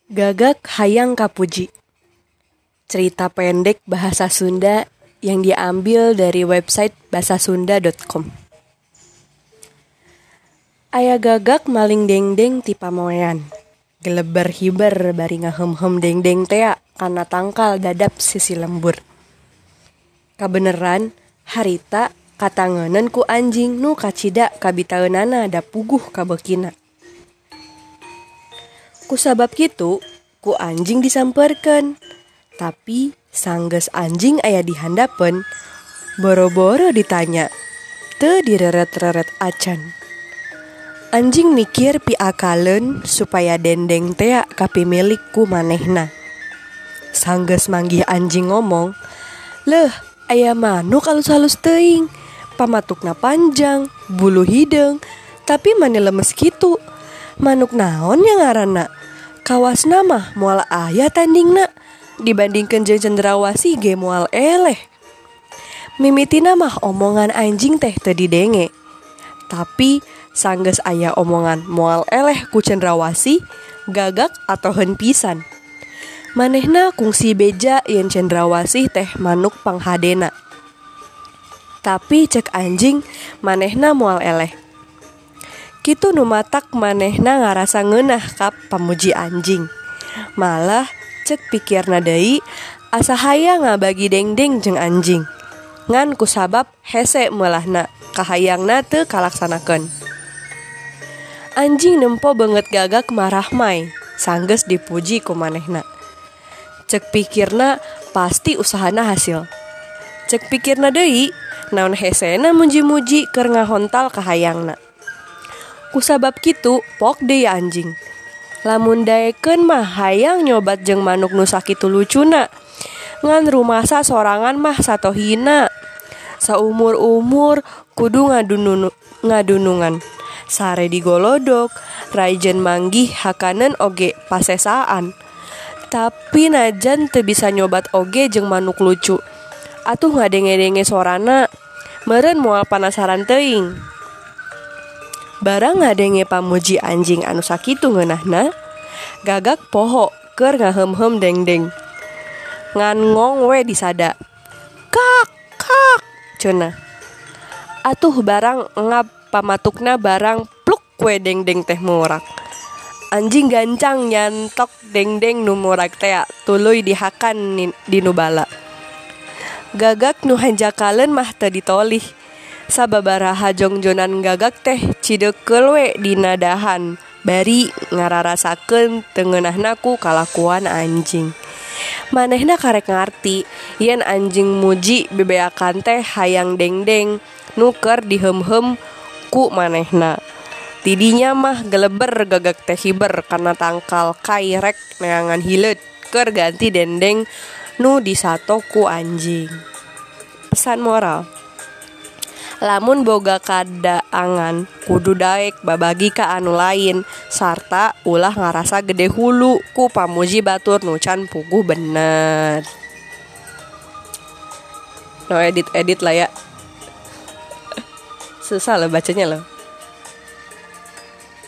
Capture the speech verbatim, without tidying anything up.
Gagak hayang kapuji. Cerita pendek bahasa Sunda yang diambil dari website bahasasunda dot com. Aya gagak maling dengdeng ti pamoean. Geleber hiber bari ngahem-hem dengdeng tea kana tangkal dadap sisi lembur. Kabeneran harita katangenan ku anjing nu kacida kabitaeunana da puguh kabekina. Kusabab kitu, ku anjing disamperkeun. Tapi sanggeus anjing aya di handapeun, boro-boro ditanya, teu direret-reret acan. Anjing mikir piakaleun supaya dendeng tea kapimilik ku manehna. Sanggeus manggih anjing ngomong, "Leuh, aya manuk alus-halus teuing, pamatukna panjang, bulu hideung, tapi mane lemes kitu. Manuk naon nya ngaranna? Kawasna mah moal aya tandingna, dibandingkeun jeung cendrawasih ge moal eleh." Mimitina mah omongan anjing teh teu didenge. Tapi sanggeus aya omongan moal eleh ku cendrawasih, gagak atoheun pisan. Manehna kungsi beja yen cendrawasih teh manuk panghadena. Tapi cek anjing manehna moal eleh. Kitu nu matak manehna ngarasa ngeunah ka pamuji anjing. Malah cek pikirna deui asa hayang ngabagi dengdeng jeung anjing. Ngan kusabab hese meulahna kahayangna teu kalaksanakeun. Anjing nempo beungeut gagak marah mai sanggeus dipuji ku manehna. Cek pikirna pasti usahana hasil. Cek pikirna deui naon hesena muji-muji keur ngahontal kahayangna. Kusabab kitu pok deui anjing. Lamun daekeun mah hayang nyobat jeung manuk nu sakitu lucuna. Ngan rumasa sorangan mah satohina. Saumur-umur kudu ngadunun, ngadunungan. Sare digolodok, raijeun manggih hakaneun oge pasesaan. Tapi najan teu bisa nyobat oge jeung manuk lucu. Atuh ngadenge-denge sorana, meureun moal panasaran teuing. Barang ngadenge pamuji anjing anu sakitu ngeunahna, gagak poho keur ngahem-hem dengdeng. Ngan ngong we disada. Kak, kak, cenah. Atuh barang ngap pamatukna barang pluk we dengdeng teh murak. Anjing gancang nyantok dengdeng nu murak tea tuluy dihakan di nu bala. Gagak nu hanjakaleun mah teu ditolih. Sababaraha jongjonan gagak teh cideukeul we dina dahan bari ngararasakeun teu ngeunahna ku kalakuan anjing. Manehna karek ngarti yen anjing muji bebeakan teh hayang dengdeng nu keur dihem-hem ku manehna. Tidinya mah geleber gagak teh hiber kana tangkal kai rek neangan hileut keur ganti dendeng nu disato ku anjing. Pesan moral: lamun boga kadaangan kudu daek babagi ka anu lain sarta ulah ngarasa gede hulu ku pamuji batur nu can puguh bener. No edit-edit lah ya. Susah loh bacanya loh.